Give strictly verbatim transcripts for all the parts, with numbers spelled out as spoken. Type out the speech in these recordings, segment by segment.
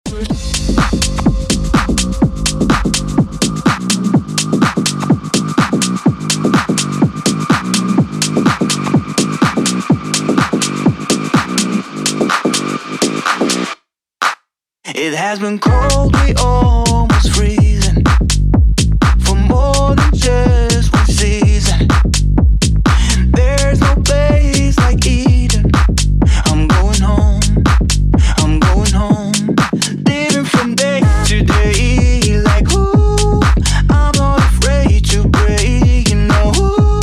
It has been cold, we almost freezing for more than just one season. There's no place like Eden. I'm going home, I'm going home. Living from day to day, like ooh, I'm not afraid to break, you know.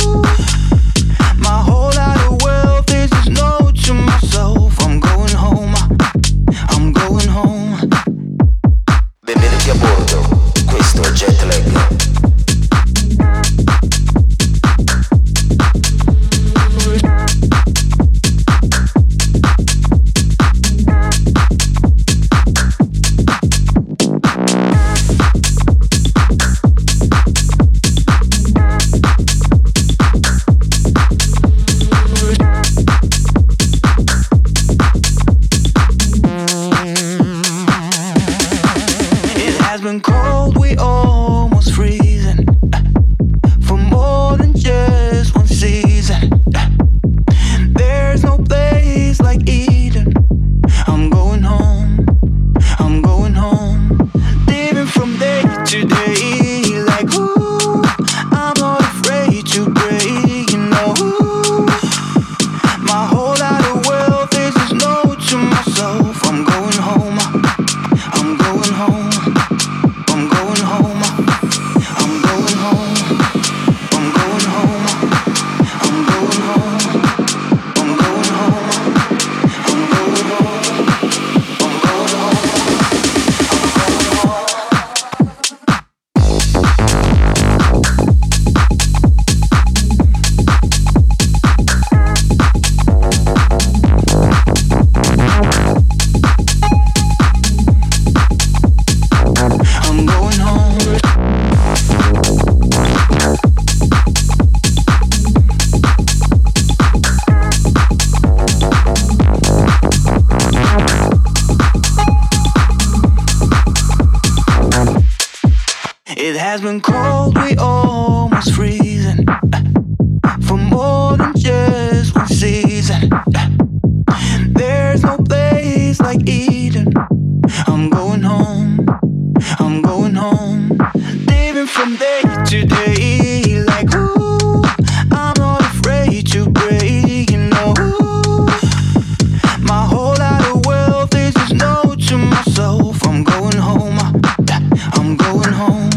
My whole lot of wealth is just no to myself. I'm going home, I'm going home. Benvenuti a bordo, questo è Jetlag. Cold, we almost freezing for more than just one season. There's no place like Eden. I'm going home, I'm going home. Living from day to day, like ooh, I'm not afraid to break, you know. My whole lot of wealth is just no to myself. I'm going home, I'm going home. I'm going home, I'm going home, I'm going home, I'm going home, I'm going home, I'm going home, I'm going home, I'm going home. It has been cold, we almost freezing for more than just one season. There's no place like Eden. I'm going home, I'm going home. Living from day to day, like ooh, I'm not afraid to break, you know. My whole lot of wealth is just no to myself. I'm going home, I'm going home.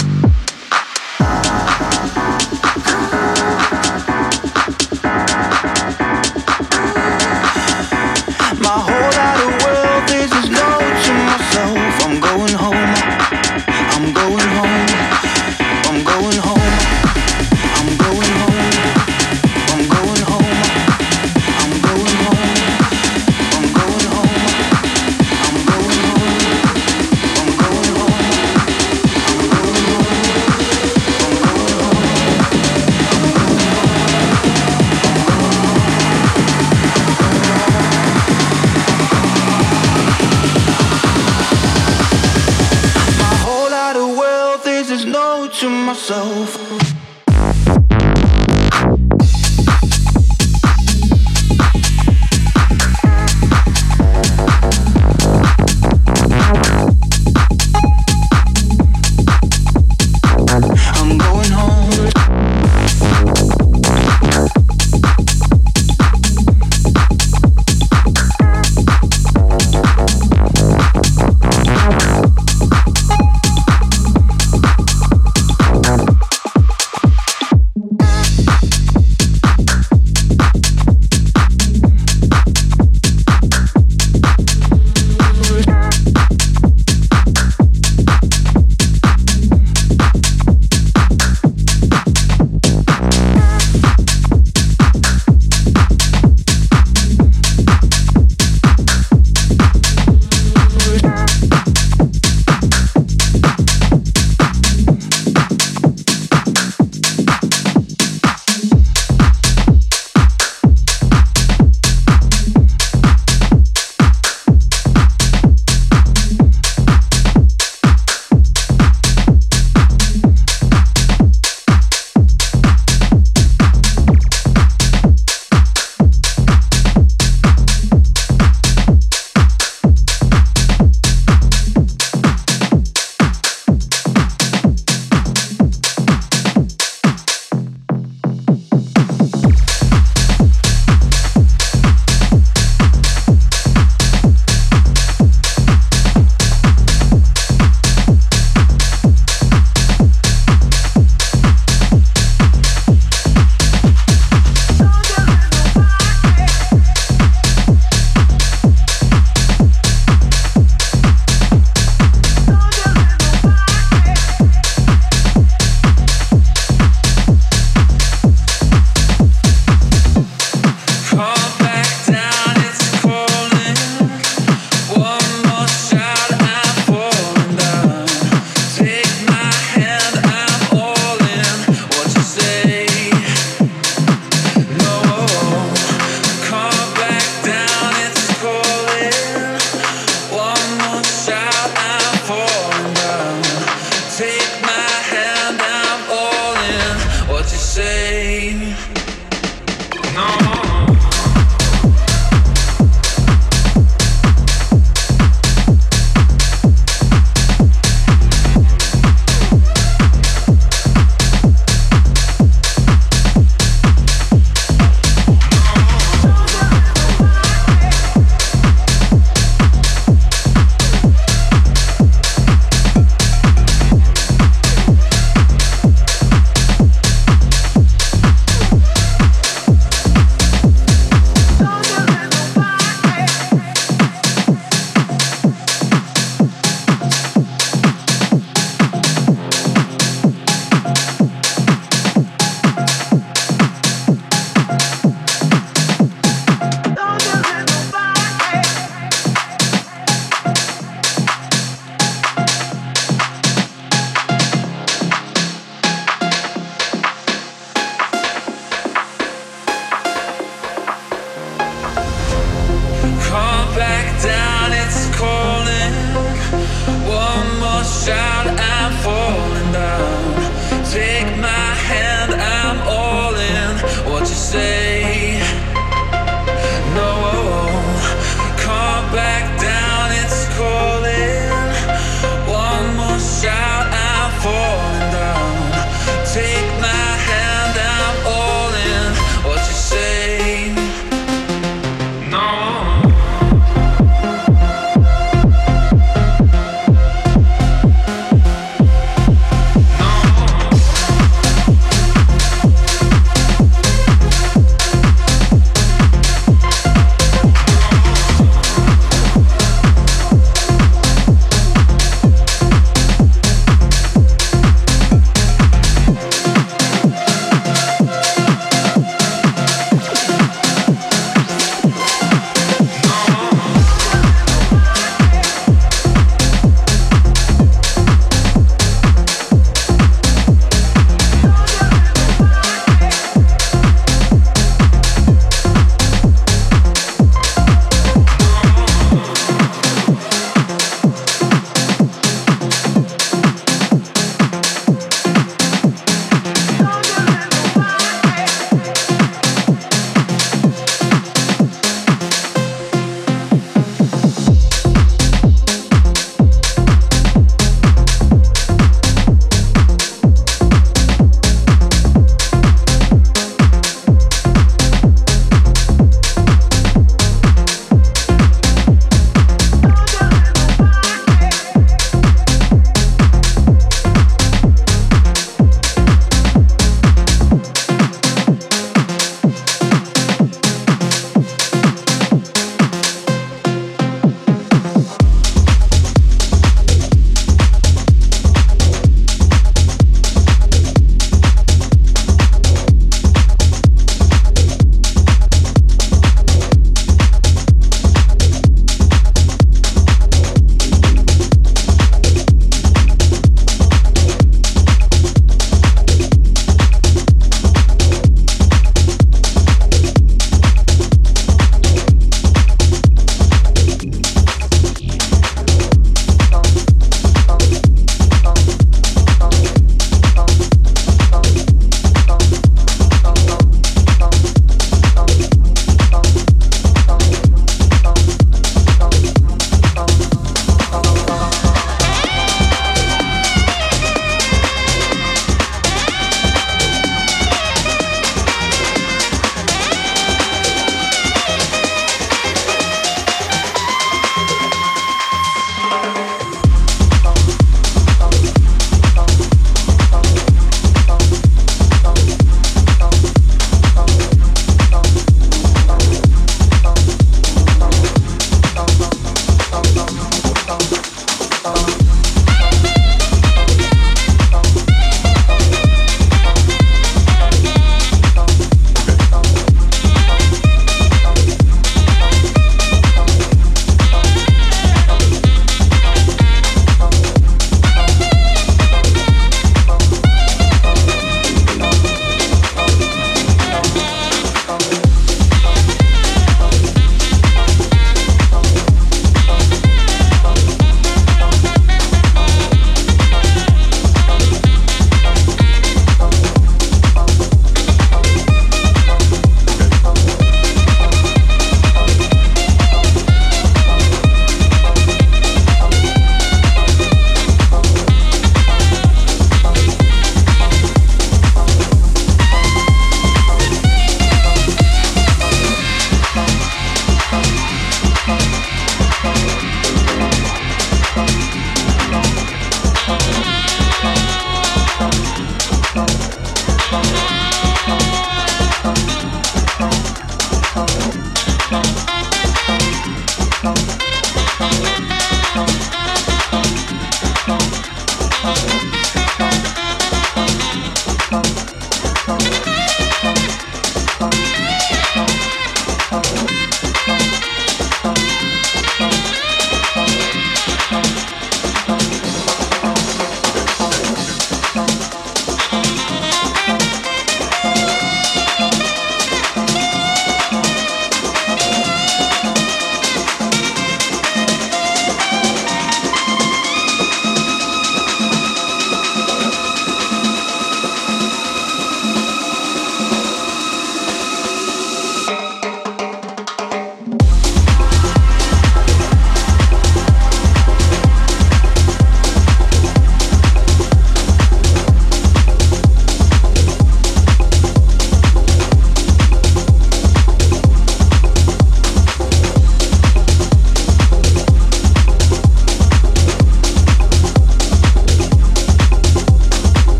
My whole lot of wealth is just no to myself. I'm going home, I'm going home, I'm going home, I'm going home, I'm going home, I'm going home, I'm going home, I'm going home, I'm going home, I'm going home, I'm going My whole lot of wealth is just no to myself. I'm going home.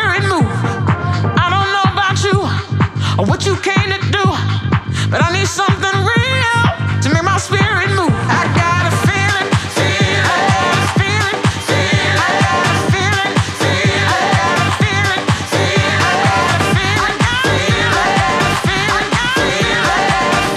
spirit move. I don't know about you or what you came to do, but I need something real to make my spirit move. I got a feeling, feeling, I got a feeling, feeling, I got a feeling, feeling, I got a feeling, feeling, I got a feeling, feeling, I got a feeling, feeling, I got a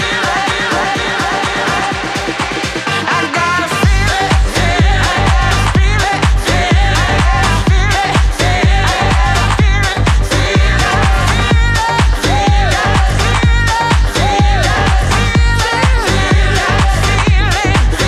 feeling, I got a feeling, feeling, I got a feeling, feeling, I got a feeling, feeling, I got a feeling, feeling, I got a feeling, feeling, I got a feeling.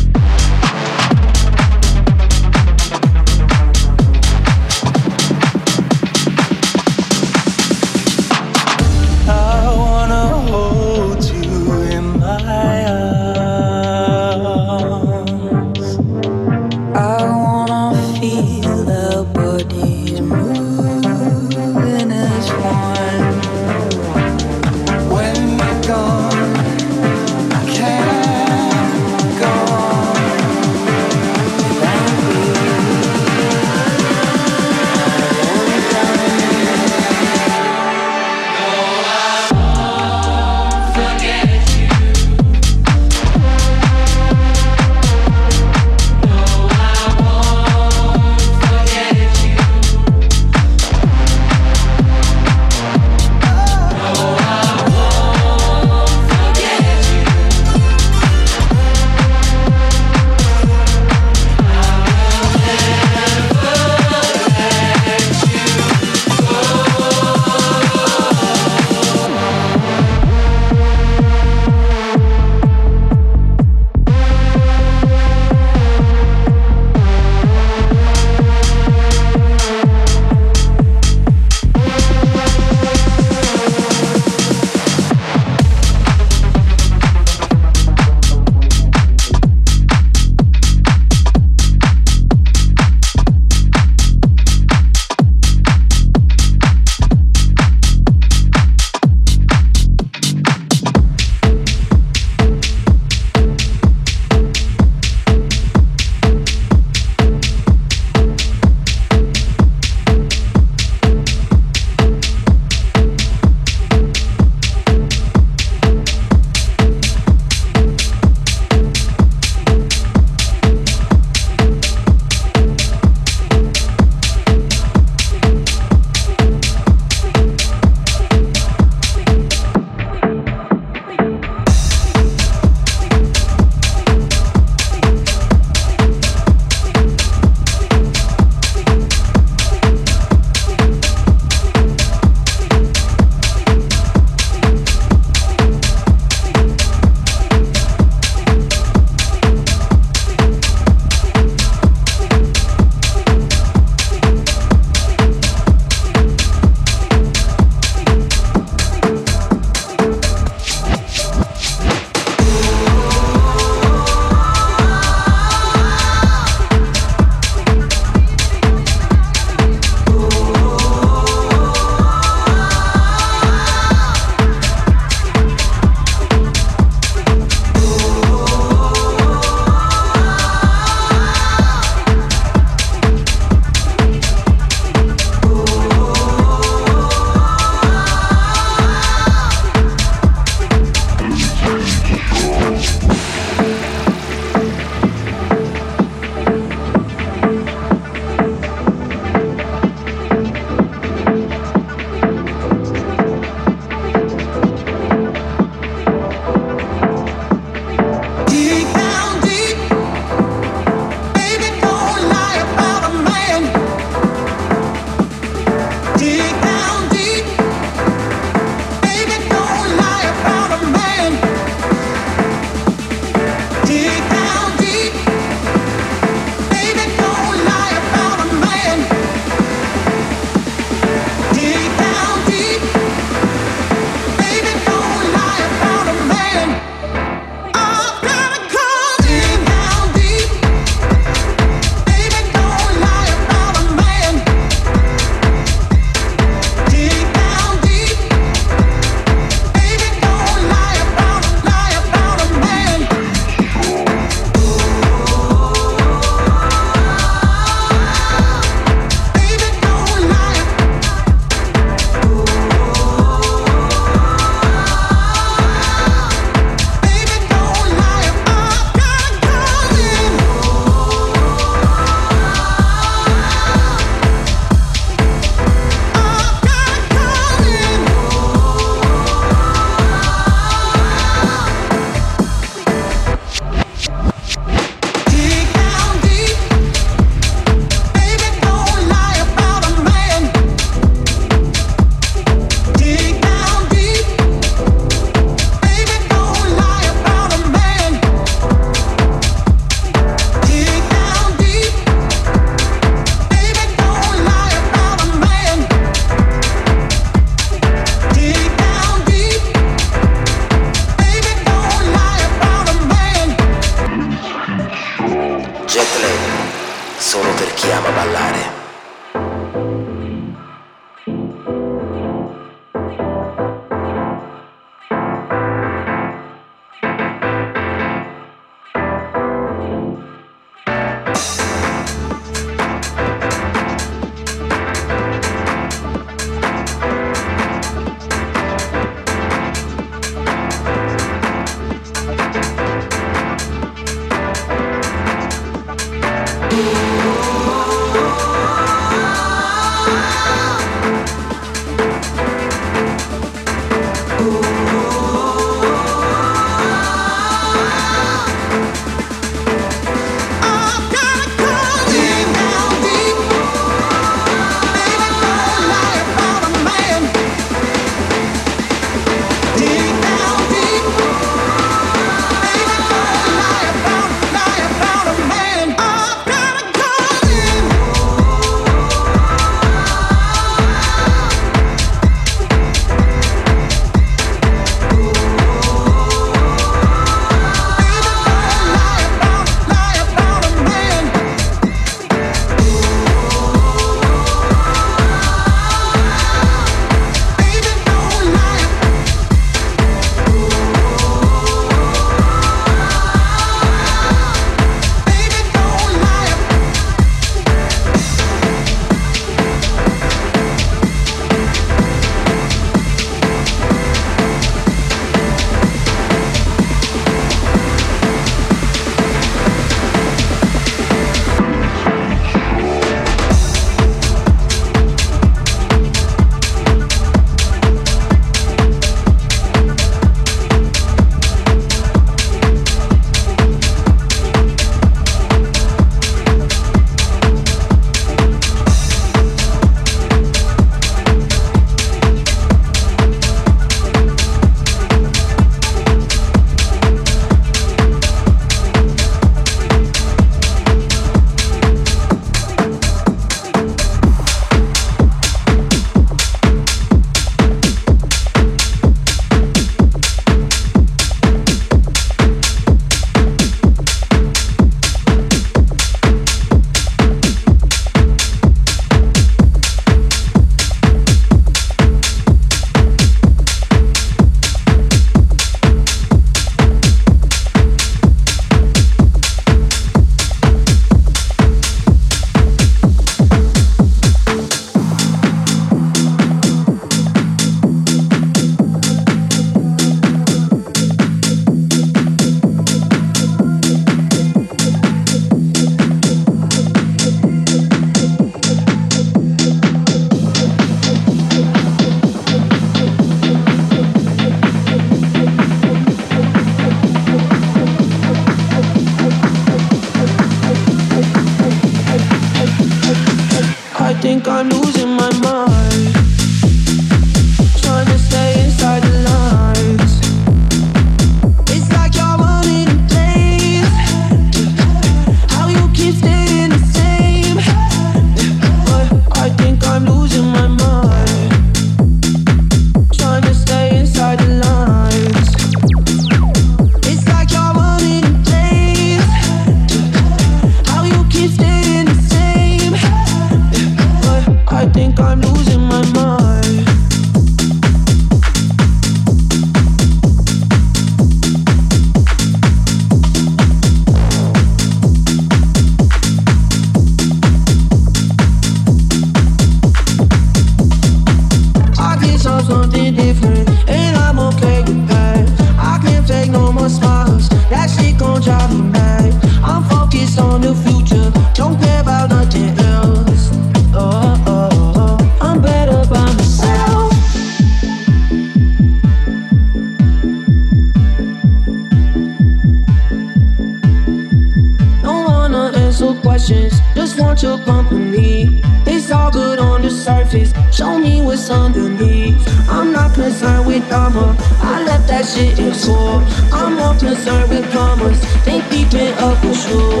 questions, just want your company. It's all good on the surface, show me what's underneath. I'm not concerned with drama, I left that shit in school. I'm more concerned with commas, they peeping up for sure.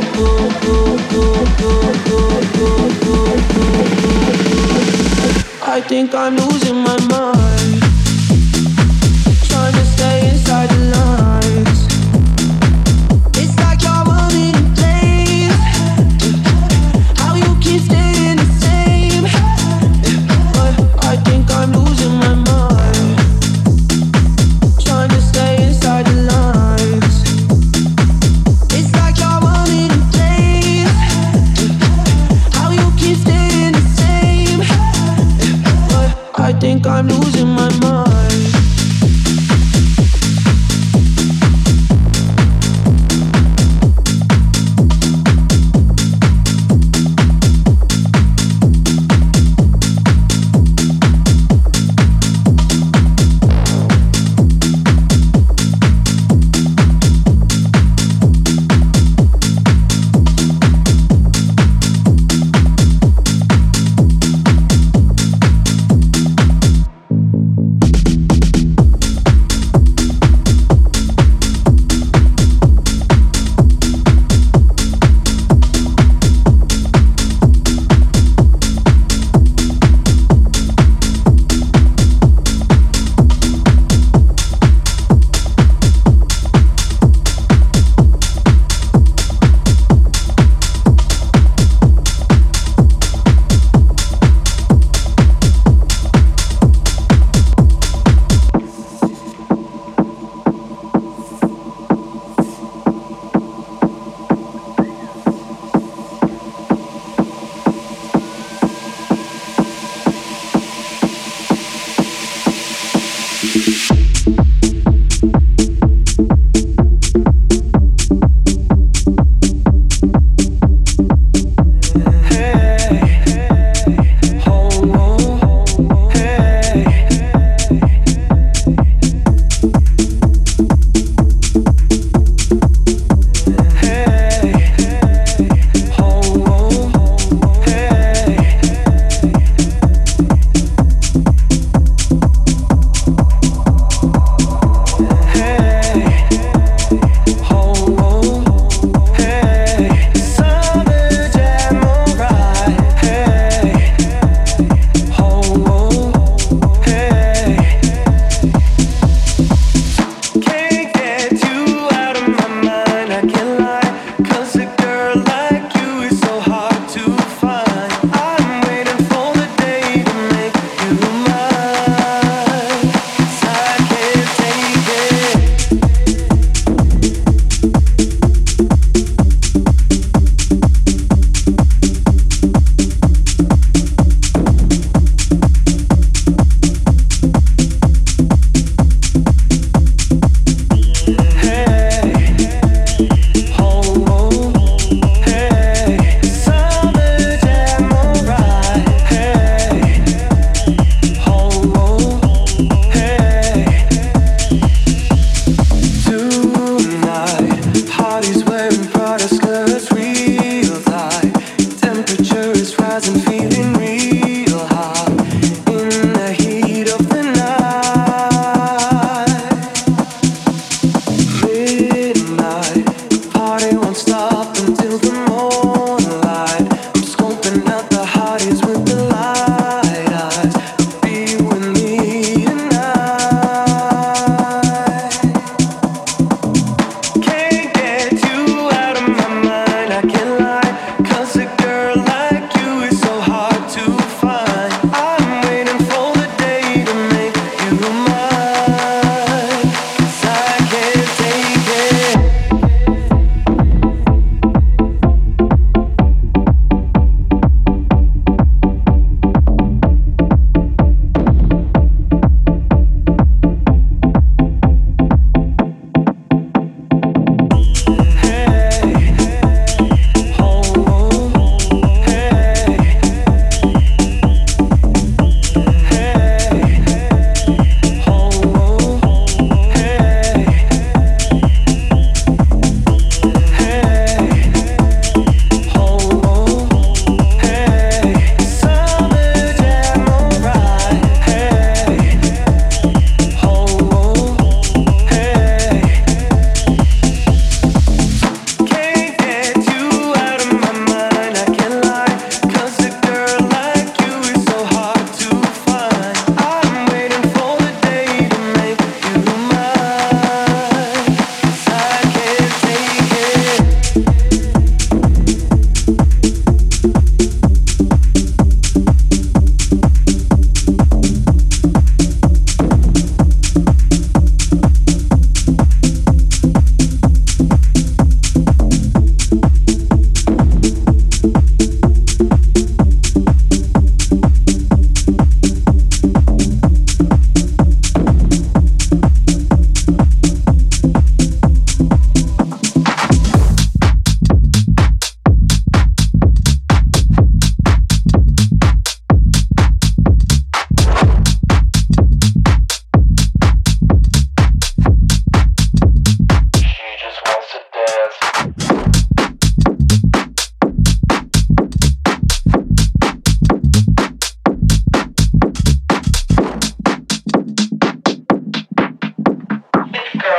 I think I'm losing my mind, trying to stay inside the lines. It's like you're running in place, how you keep staying the same. But I think I'm losing my mind, trying to stay inside the lines. It's like you're running in place, how you keep staying the same. But I think I'm losing my mind.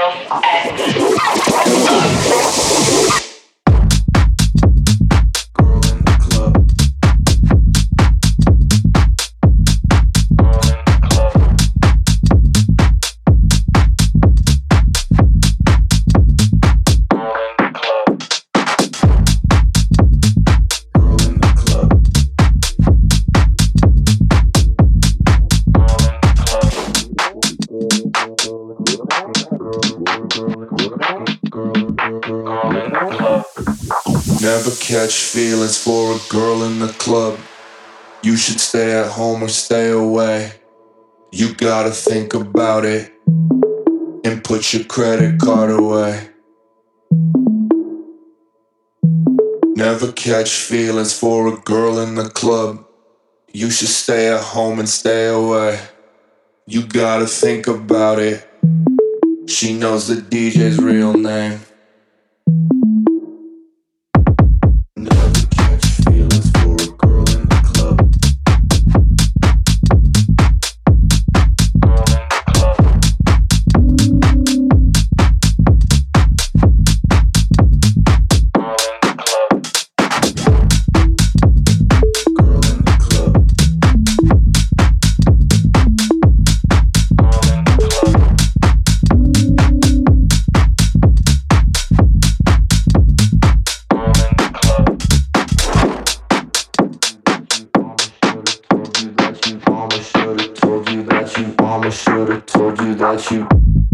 Never catch feelings for a girl in the club. You should stay at home or stay away. You gotta think about it and put your credit card away. Never catch feelings for a girl in the club. You should stay at home and stay away. You gotta think about it. She knows the D J's real name. Never catch feelings for a girl in the club. Girl in the club. Mama should've told you that you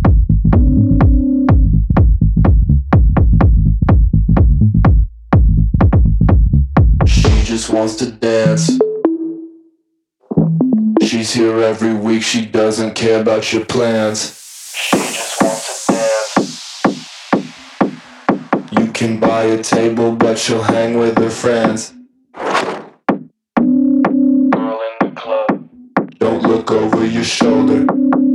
She just wants to dance. She's here every week, she doesn't care about your plans. She just wants to dance. You can buy a table, but she'll hang with her friends. Girl in the club. Don't look over your shoulder.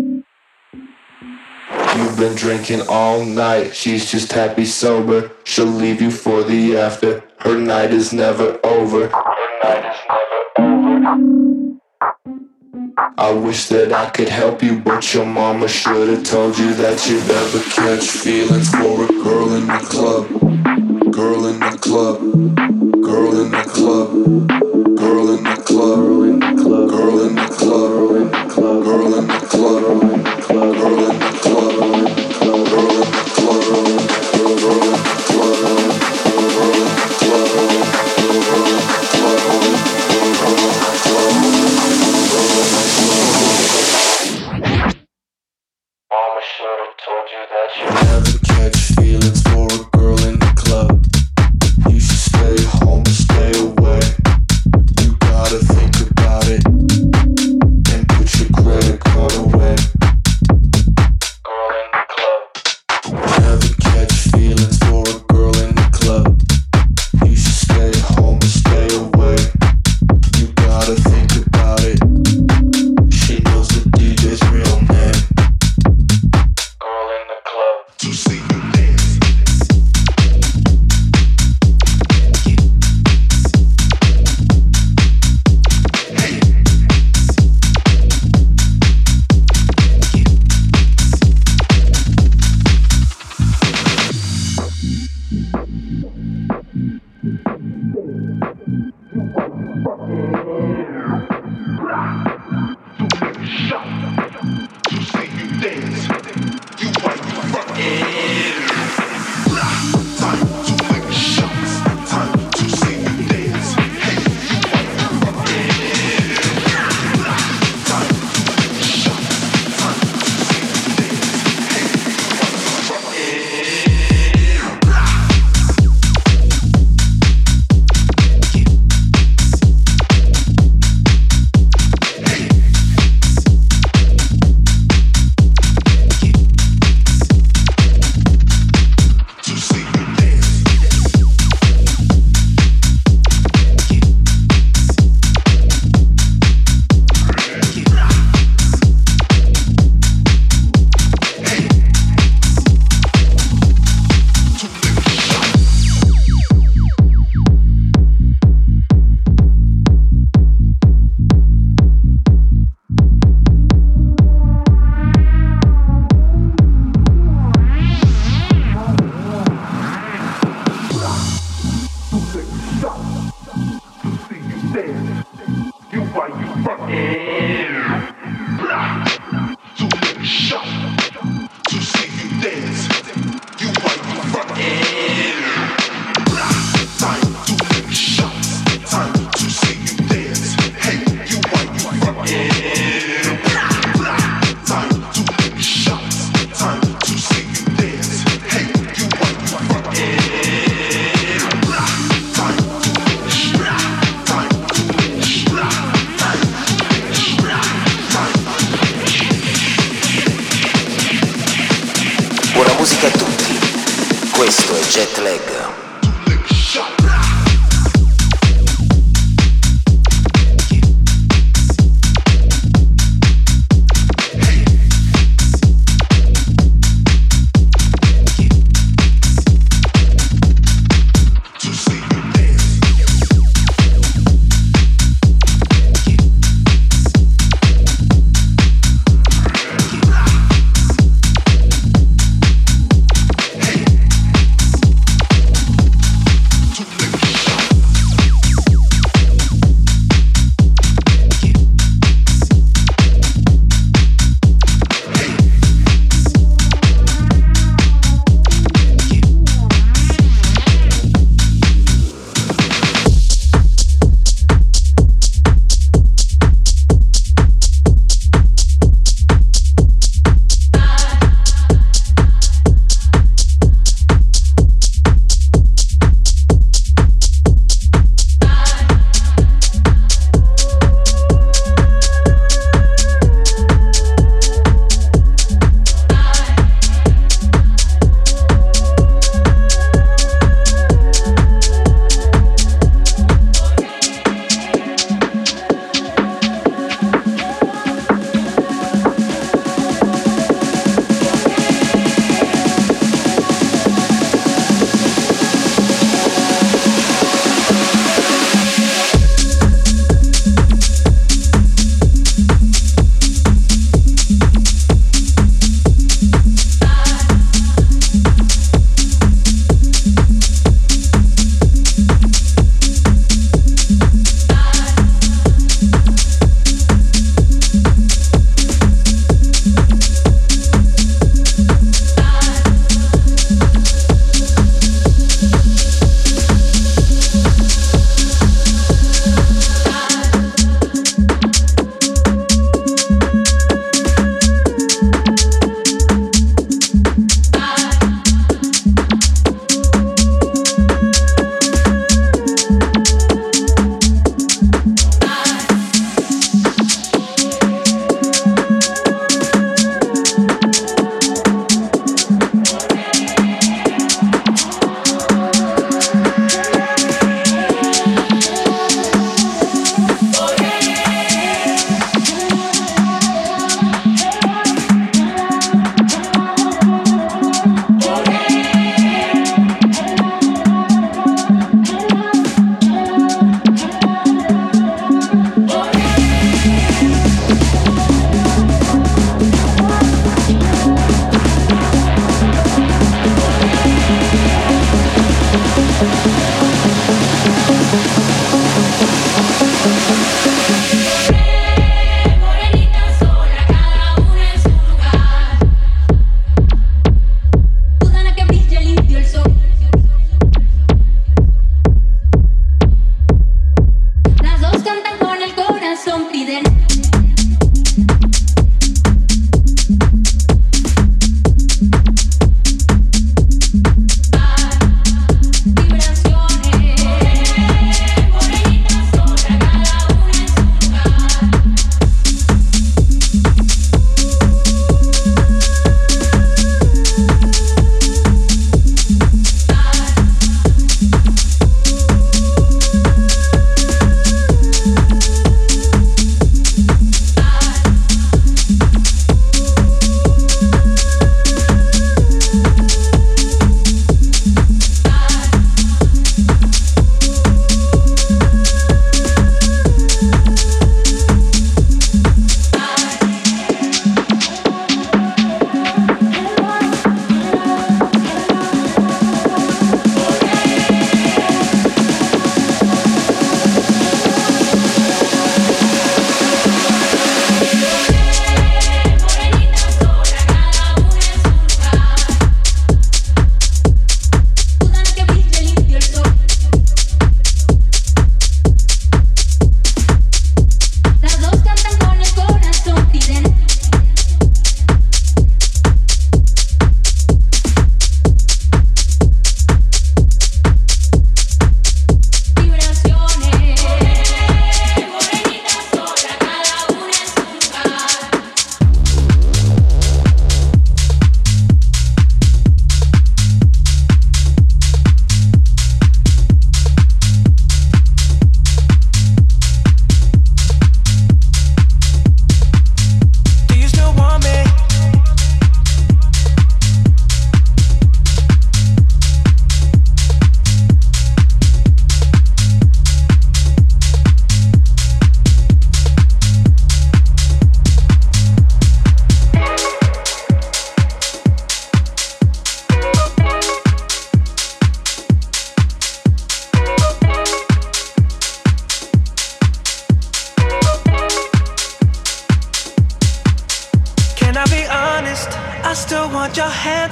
You've been drinking all night, she's just happy sober. She'll leave you for the after. Her night is never over. Her night is never over. I wish that I could help you, but your mama should've told you that you'd never catch feelings for a girl in the club. Girl in the club. Girl in the club. Girl in the club. Girl in the club. Girl in the club. Girl in the club. Girl in the club. Girl in the club. Girl in the club. Girl in the club. Girl in the club. Girl in the club. Girl in the club. Girl in the club. Mama should've told you that you never catch feelings for a girl in the club. You should stay home and stay away. You gotta think about it and put your credit card away. Girl in the club. Never catch feelings for a girl in the club. You should stay home and stay away. You gotta think about it. She knows the D J's real name. Girl in the club. To see musica a tutti. Questo è Jet Lag.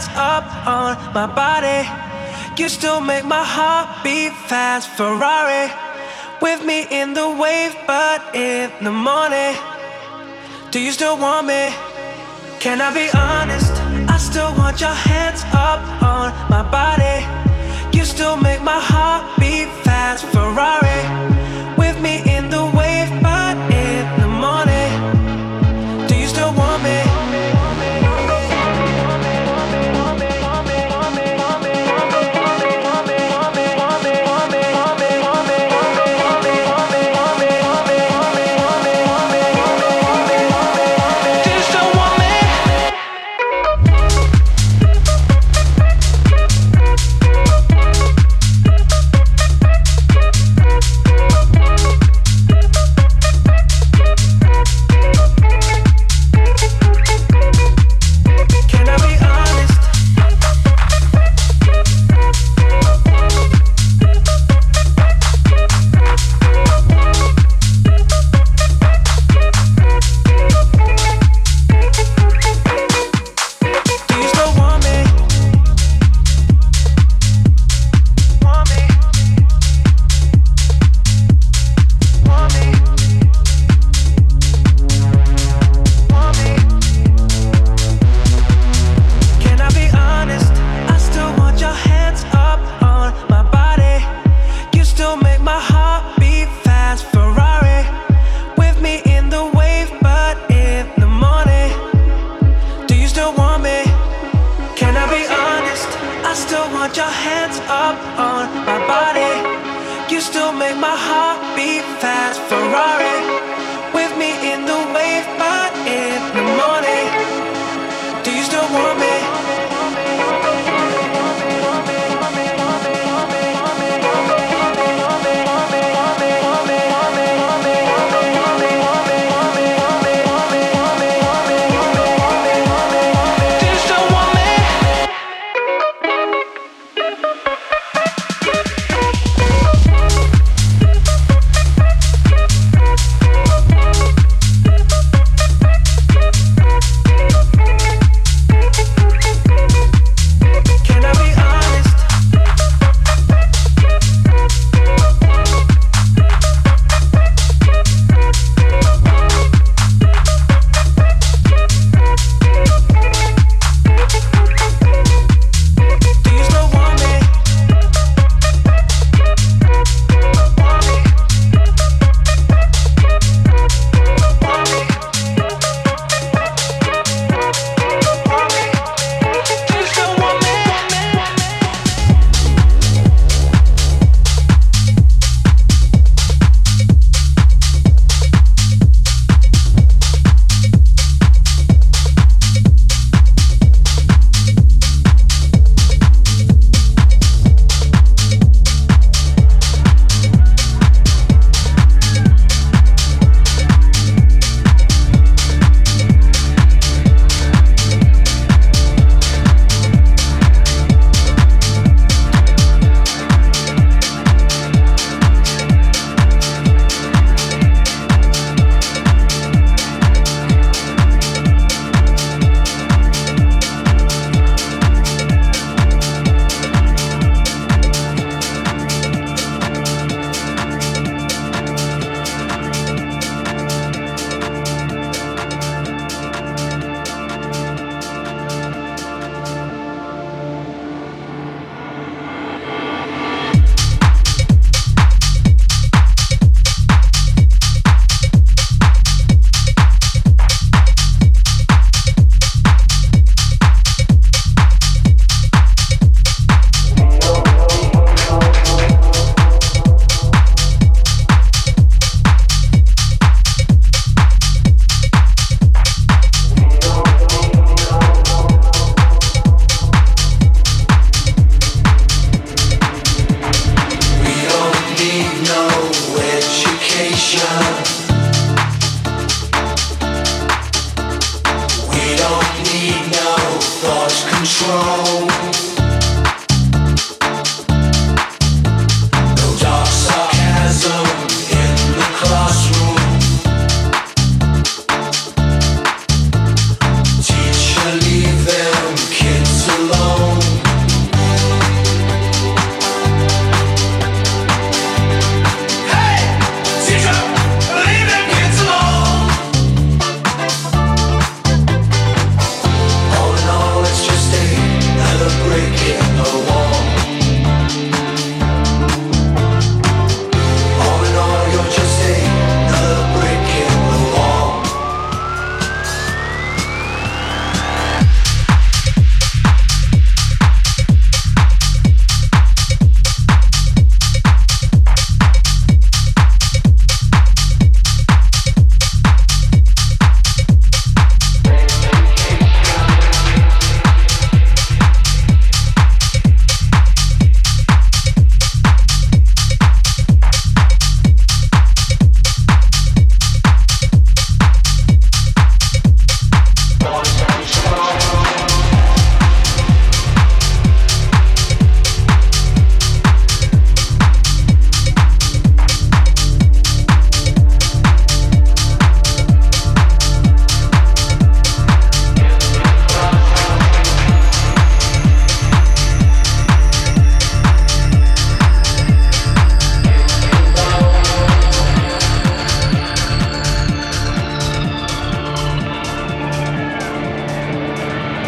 up on my body. You still make my heart beat fast. Ferrari with me in the wave, but in the morning, do you still want me? Can I be honest? I still want your hands up on my body. You still make my heart beat fast. Ferrari with me in the wave, but in the morning, do you still want me? control.